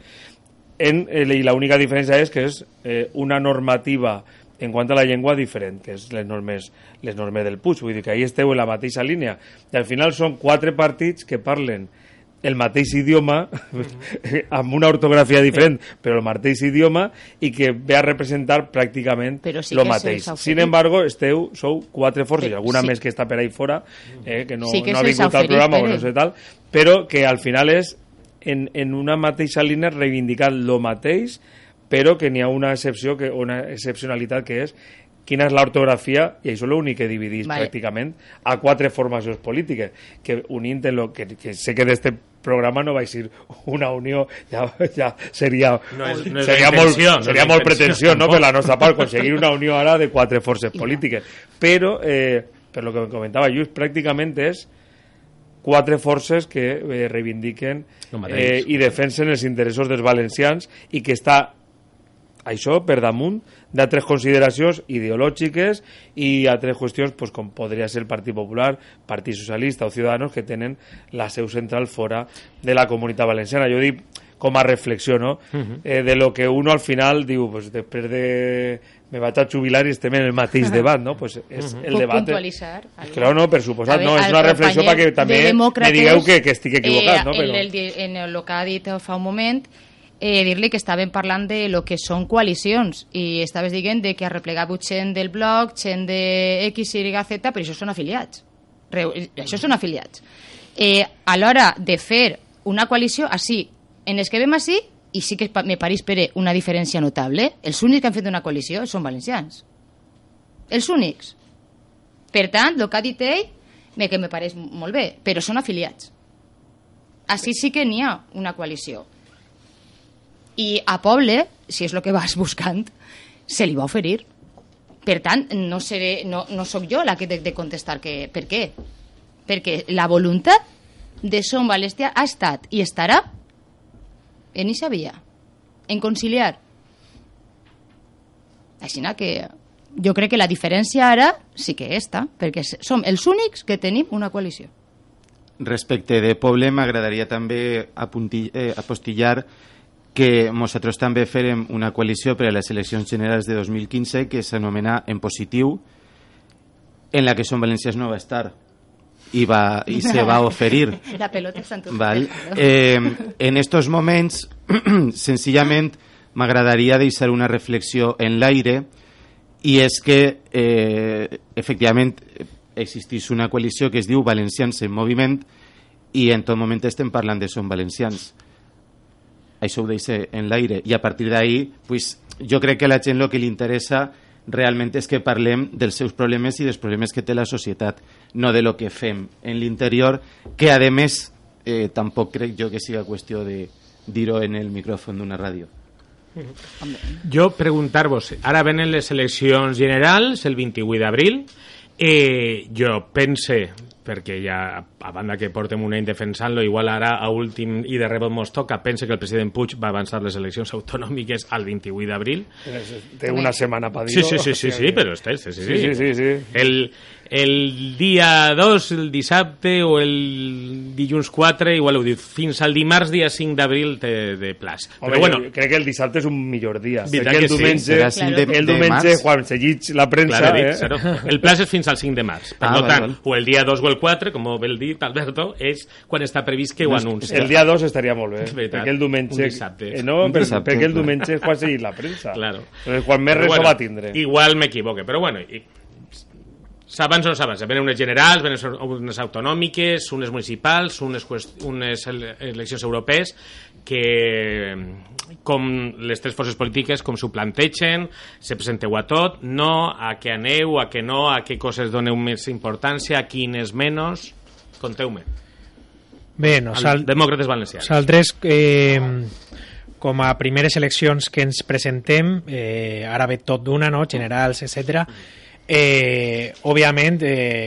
i l'única diferència és que és una normativa en quant a la llengua diferent, que és les normes del Puig, vull dir que ahí esteu en la mateixa línia, i al final són 4 partits que parlen el mateix idioma, amb una ortografia diferent, però el mateix idioma, i que ve a representar pràcticament el mateix. Sin embargo, sou 4 forces, i alguna més que està per ahí fora, que no ha vingut al programa o no sé tal, però que al final és en una mateixa línia reivindicar el mateix, però que n'hi ha una excepció, una excepcionalitat que és quina és l'ortografia, i això és l'únic que dividís pràcticament a 4 formacions polítiques, que unint en lo que sé que d'este programa no va ser una unió, ja seria molt pretensió, no, per la nostra part, aconseguir una unió ara de 4 forces polítiques, però per lo que comentava Lluís, pràcticament és 4 forces que reivindiquen i defensen els interessos dels valencians, i que està això per damunt d'altres consideracions ideològiques i altres qüestions com podria ser el Partit Popular, Partit Socialista o Ciudadanos, que tenen la seu central fora de la Comunitat Valenciana. Jo dic com a reflexió, no? De lo que uno al final diu, després de me vaig a jubilar i estem en el mateix debat, no? Pues és el debat. Puc puntualitzar? Claro, no, per suposat, no, és una reflexió perquè també me digueu que estic equivocat, no? En el que ha dit fa un moment, dir-li que estàvem parlant de lo que són coalicions, i estaves dient que ha replegat gent del bloc, gent de X, Y, Z, però això són afiliats. Això són afiliats. A l'hora de fer una coalició, així, en els que vam així, i sí que me pareix per una diferència notable, els únics que han fet una coalició són valencians. Els únics. Per tant, el que ha dit ell, que me pareix molt bé, però són afiliats. Així sí que n'hi ha una coalició. I a Poble, si és el que vas buscant, se li va oferir. Per tant, no sóc jo la que he de contestar per què. Perquè la voluntat de Som Valencià ha estat i estarà en eixa via, en conciliar. Així que jo crec que la diferència ara sí que està, perquè som els únics que tenim una coalició. Respecte de Poble, m'agradaria també apostillar que nosaltres també farem una coalició per a les eleccions generals de 2015 que s'anomena En Positiu, en la que Som Valencians no va estar i se va oferir. La pelota està en tu. Val. En estos moments, senzillament, m'agradaria deixar una reflexió en l'aire, i és que, efectivament, existeix una coalició que es diu Valencians en Moviment, i en tot moment estem parlant de Som Valencians. Això ho deixa en l'aire, i a partir d'ahí pues, jo crec que a la gent el que li interessa realment és que parlem dels seus problemes i dels problemes que té la societat, no de lo que fem en l'interior, que a més tampoc crec jo que siga qüestió de dir-ho en el micròfon d'una ràdio. Jo preguntar-vos, ara venen les eleccions generals el 28 d'abril, jo pense, perquè ja a banda que portem un any defensant-lo, igual ara a últim i de rebot mos toca, pense que el president Puig va avançar les eleccions autonòmiques al 28 d'abril. Té una setmana per dir-ho. Sí, però sí. El dia 2, el dissabte o el dilluns 4, igual ho diu, fins al dimarts dia 5 d'abril de plaç. Home, però bueno, crec que el dissabte és un millor dia. Perquè el diumenge quan se llig la premsa... El plaç és fins al 5 de març. Per tant, o el dia 2 o el 4, com vol dir Alberto, és quan està previst que ho anuncia. El dia 2 estaria molt bé, perquè el diumenge... perquè el diumenge és quan se llig la premsa. Quan més res va tindre. Igual m'equivoque, però bueno... S'avança o no s'avança? Venen unes generals, venen unes autonòmiques, unes municipals, unes eleccions europees que, com les tres forces polítiques, com s'ho plantegen, se presenteu a tot, no, a què aneu, a què no, a què coses doneu més importància, a quines menys... Conteu-me. Bé, Demòcrates Valencians. Nosaltres, com a primeres eleccions que ens presentem, ara ve tot d'una, no? Generals, etcètera. Òbviament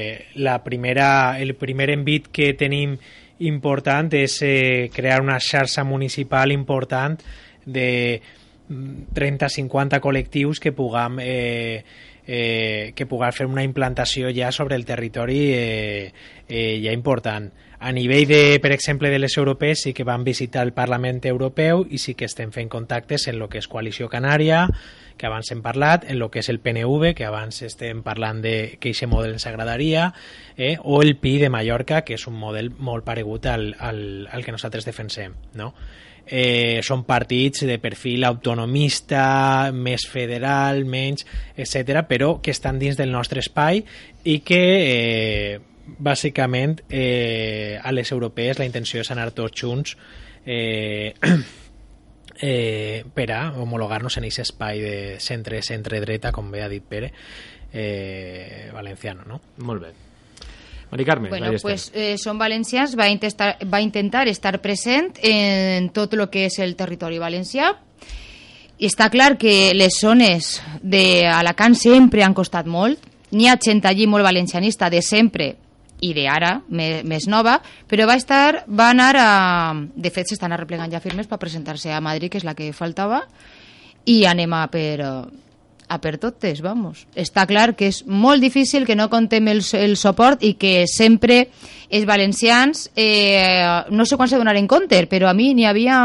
el primer envit que tenim important és crear una xarxa municipal important de 30-50 col·lectius que puguem fer una implantació ja sobre el territori ja important. A nivell de, per exemple, de les europees, sí que vam visitar el Parlament Europeu i sí que estem fent contactes en el que és Coalició Canària, que abans hem parlat, en el que és el PNV, que abans estem parlant de que aquest model ens agradaria, o el PI de Mallorca, que és un model molt paregut al que nosaltres defensem, no? Són partits de perfil autonomista, més federal, menys, etc., però que estan dins del nostre espai i que bàsicament a les europees la intenció és anar tots junts per a homologar-nos en aquest espai de centre-dreta, com bé ha dit Pere, valenciano, no? Molt bé. Mari Carme, bueno, pues Som Valencians va intentar estar present en tot el que és el territori valencià. I està clar que les zones d'Alacant sempre han costat molt. N'hi ha gent allí molt valencianista de sempre i d'ara, més nova, però va anar a... De fet, s'estan arreplegant ja firmes per presentar-se a Madrid, que és la que faltava, i anem a per totes, vamos. Està clar que és molt difícil, que no contem el suport i que sempre els valencians, no sé quan se donaren compte, però a mi n'hi havia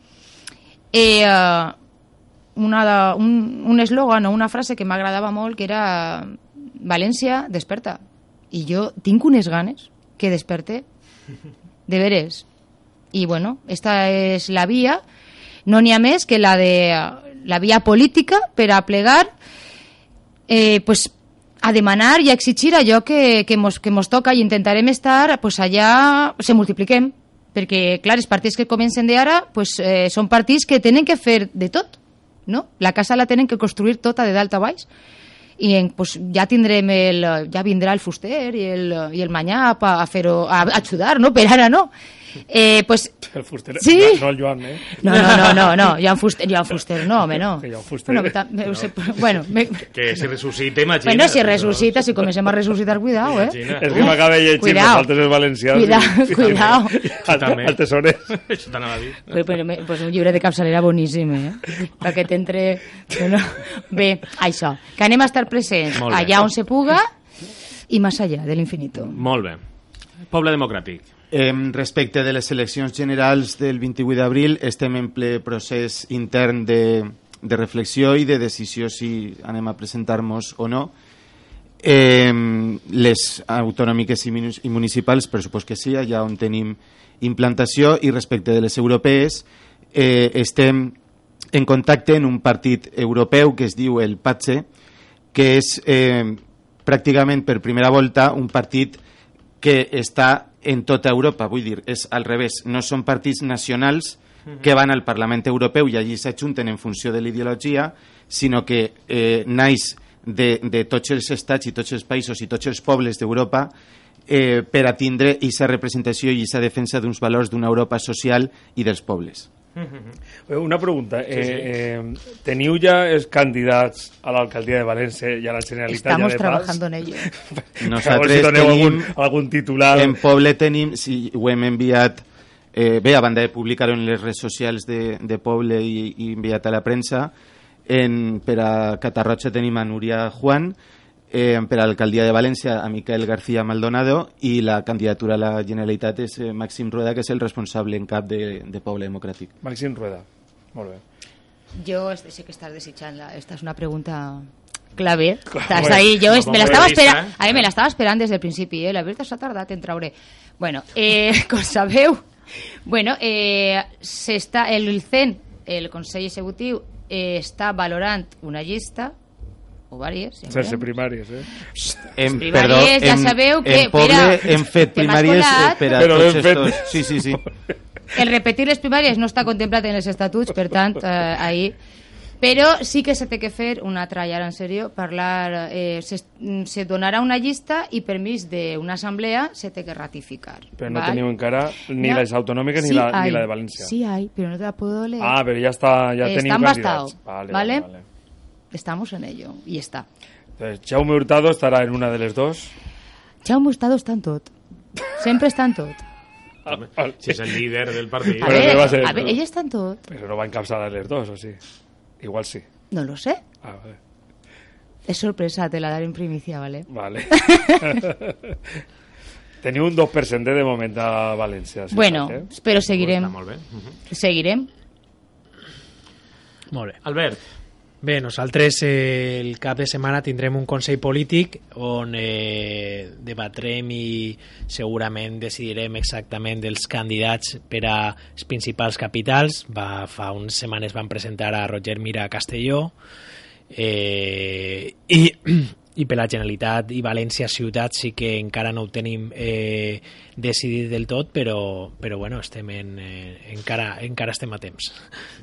un eslògan o una frase que m'agradava molt, que era València, desperta. I jo tinc unes ganes que desperte, de veres. I bueno, esta és la via, no n'hi ha més que la via política per a plegar, pues, a demanar i a exigir allò que mos toca, i intentarem estar pues, allà, se multipliquem, perquè clar, els partits que comencen d'ara pues, són partits que tenen que fer de tot, no? La casa la tenen que construir tota de dalt a baix, i pues, ja vindrà el fuster i el manyà a fer-ho, a ajudar, no? Per ara no. Pues, el fuster, sí? No el Joan, eh? No, Joan Fuster, no, home, no. Que Joan Fuster. Bueno, que si ressuscita, imagina. Bueno, si ressuscita, si comencem a ressuscitar, cuidao, És que m'acaba de llegir, nosaltres els valencians. Cuidao. El tesorer. Això t'anava a dir. Pues un llibre de capçalera boníssim, perquè t'entre... Bé, això, que anem a estar presents allà on se puga i més allà de l'infinito. Molt bé. Poble democràtic. Respecte de les eleccions generals del 28 d'abril, estem en ple procés intern de reflexió i de decisió si anem a presentar-nos o no. Les autonòmiques i municipals, per supost que sí, allà on tenim implantació, i respecte de les europees, estem en contacte en un partit europeu que es diu el PATSE, que és pràcticament per primera volta un partit que està en tota Europa, vull dir, és al revés, no són partits nacionals que van al Parlament Europeu i allí s'ajunten en funció de l'ideologia, sinó que naix de tots els estats i tots els països i tots els pobles d'Europa per a tindre aquesta representació i aquesta defensa d'uns valors d'una Europa social i dels pobles. Una pregunta. ¿Teniu ya candidats a la alcaldía de Valencia y a la Generalitat? Estamos trabajando en ello. Nosaltres tenim algun titular. En Poble tenim, si ho hem enviat, bé, a banda de publicar-ho en les redes socials de Poble i enviat a la premsa, per a Catarroja tenim a Núria Juan, per a l'alcaldia de València a Miquel García Maldonado, i la candidatura a la Generalitat és Màxim Rueda, que és el responsable en cap de Poble Democràtic. Màxim Rueda, molt bé. Yo sé que estás desechando. Esta es una pregunta clave. Estás ahí. Yo me la estaba esperando. A mí me la estava esperant des del principi. La veritat s'ha tardat en traure. Bueno, com sabeu, bueno, el CEN, el Consell Executiu, està valorant una llista o diverses. Sense primàries, Primàries, ja sabeu que... En Poble hem fet primàries per a tots estos... Sí. El repetir les primàries no està contemplat en els estatuts, per tant, ahí... Però sí que se té que fer una tralla en sèrio, parlar... Se donarà una llista i permís d'una assemblea se té que ratificar. Però no teniu encara ni les autonòmiques ni la de València. Sí hay, però no te la puedo leer. Ah, però ja teniu candidats. Vale. Estamos en ello, y está. Entonces, Jaume Hurtado estarà en una de les dos. Jaume Hurtado està en tot. Sempre està en tot. Si és el líder del partit. A ver, ell està en tot. Però no va encapçalar les dos, o sí? Igual sí. No lo sé. Vale. Es sorpresa, te la daré en primicia, ¿vale? Vale. Teniu un 2% de moment a València. Bueno, però seguirem. Molt bé. Seguirem. Molt bé. Albert. Bé, nosaltres el cap de setmana tindrem un consell polític on debatrem i segurament decidirem exactament dels candidats per a les principals capitals. Fa unes setmanes van presentar a Roger Mira a Castelló i per la Generalitat i València ciutat sí que encara no ho tenim decidit del tot, però bueno, estem encara estem a temps.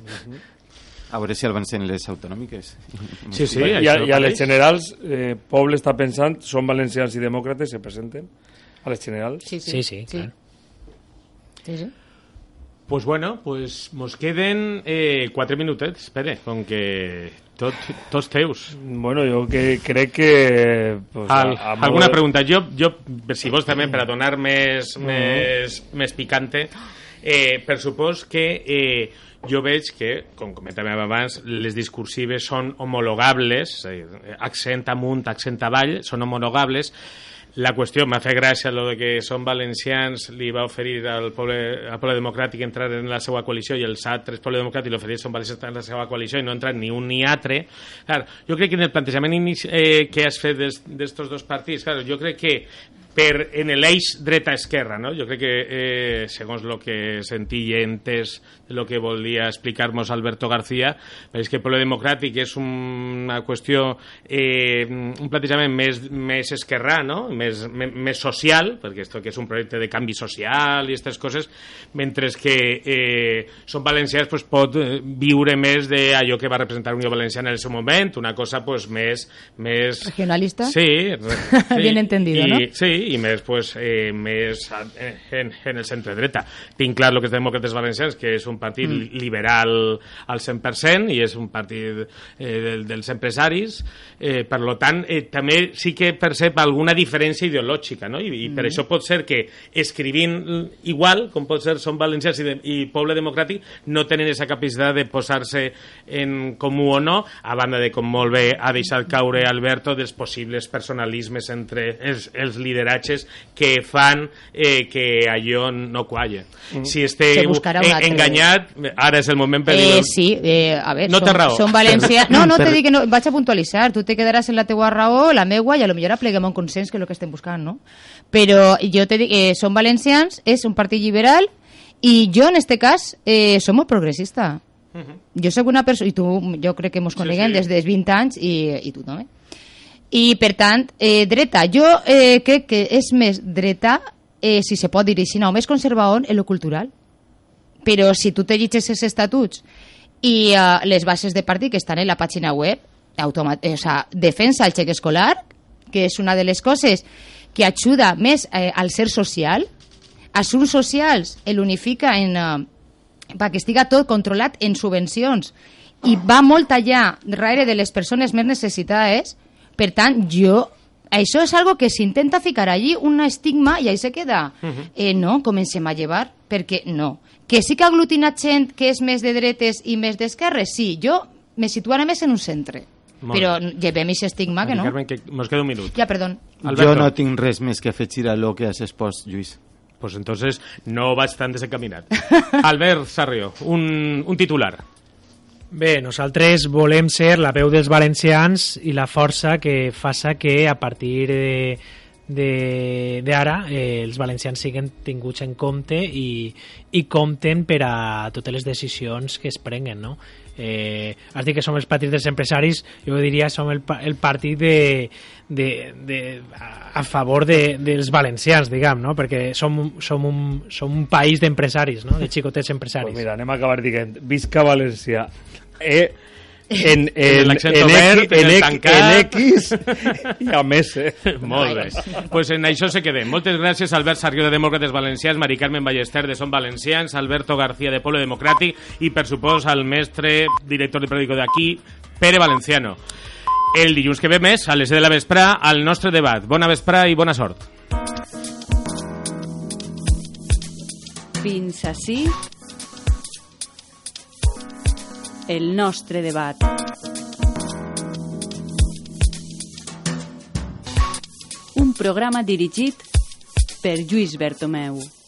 A veure si avancen les autonòmiques. Sí. I a les generals, Poble està pensant, són valencians i demòcrates, se presenten a les generals? Sí, clar. Sí. Pues bueno, mos queden 4 minutets, Pere, com que tots teus. Bueno, jo crec que... Alguna pregunta? Jo, si vols també, per a donar més picante, per supòs que jo veig que, com comentàvem abans, les discursives són homologables, accent amunt, accent avall, són homologables. La qüestió, m'ha fet gràcia lo de que són valencians, li va oferir al poble democràtic entrar en la seva coalició i els altres poble democràtic li oferir són valencians en la seva coalició i no entrar ni un ni altre. Clar, jo crec que en el plantejament que has fet d'estos dos partits, clar, jo crec que en l'eix dreta-esquerra, no? Jo crec que, segons el que sentí i he entès el que volia explicar-nos Alberto García, és que el Poble Democràtic és una qüestió, un plantejament més esquerrà, no? Més social, perquè esto que és un projecte de canvi social i aquestes coses, mentre que Som Valencians pot viure més d'allò que va representar Unió Valenciana en el seu moment, una cosa més... ¿Regionalista? Sí. Bien entendido, ¿no? Sí, i més, més en el centre-dreta. Tinc clar el que és Demòcrates Valencians, que és un partit liberal al 100% i és un partit dels empresaris. Per tant, també sí que percep alguna diferència ideològica, no? I per això pot ser que escrivint igual, com pot ser Som Valencians i Poble Democràtic, no tenen aquesta capacitat de posar-se en comú o no, a banda de, com molt bé ha deixat caure Alberto, dels possibles personalismes entre els liderats lideratges que fan que allò no qualla. Si esteu enganyat, ara és el moment per dir-ho. Sí, a veure, no té raó. Som valencians... No, te dic que no, vaig a puntualitzar, tu te quedaràs en la teua raó, la meua, i a lo millor apleguem un consens, que és el que estem buscant, no? Però jo te dic, som valencians, és un partit liberal, i jo, en este cas, som molt progressista. Jo soc una persona, i tu, jo crec que mos coneguem des dels 20 anys, i tu també. I, per tant, dreta. Jo crec que és més dreta, si se pot dir així, o més conservador en lo cultural. Però si tu te llegeixes els estatuts i les bases de partit que estan en la pàgina web, defensa el xec escolar, que és una de les coses que ajuda més al ser social, assumptes socials l'unifica perquè estiga tot controlat en subvencions i va molt allà darrere de les persones més necessitades. Per tant, això és algo que s'intenta ficar allí un estigma i ahí se queda. No, comencem a llevar, perquè no. Que sí que ha aglutinat gent que és més de dretes i més d'esquerres, sí, jo me situaré més en un centre. Però llevem aquest estigma, que no? Carmen, que mos queda un minut. Ja, perdó. Jo no tinc res més que afegir a lo que has expost, Lluís. Pues entonces no vaig tan desencaminat. Albert Sarrió, un titular. Bé, nosaltres volem ser la veu dels valencians i la força que faça que a partir d'ara els valencians siguin tinguts en compte i compten per a totes les decisions que es prenguen, no? Has dit que som els partits dels empresaris, jo diria som el partit a favor dels valencians, diguem, no? Perquè som un país d'empresaris, no? De xicotets empresaris. Pues mira, anem a acabar dient visca València. En X i a més. Molt bé. Pues en això se quedem. Moltes gràcies Albert Sarrió de Demòcrates Valencians, Mari Carmen Ballester de Som Valencians, Alberto García de Pueblo Democràtic i per supost al mestre director de periòdico d'aquí, Pere Valenciano. El dilluns que ve més, a les 10 de la vesprà, al nostre debat. Bona vesprà i bona sort. Fins ací el nostre debat. Un programa dirigit per Lluís Bertomeu.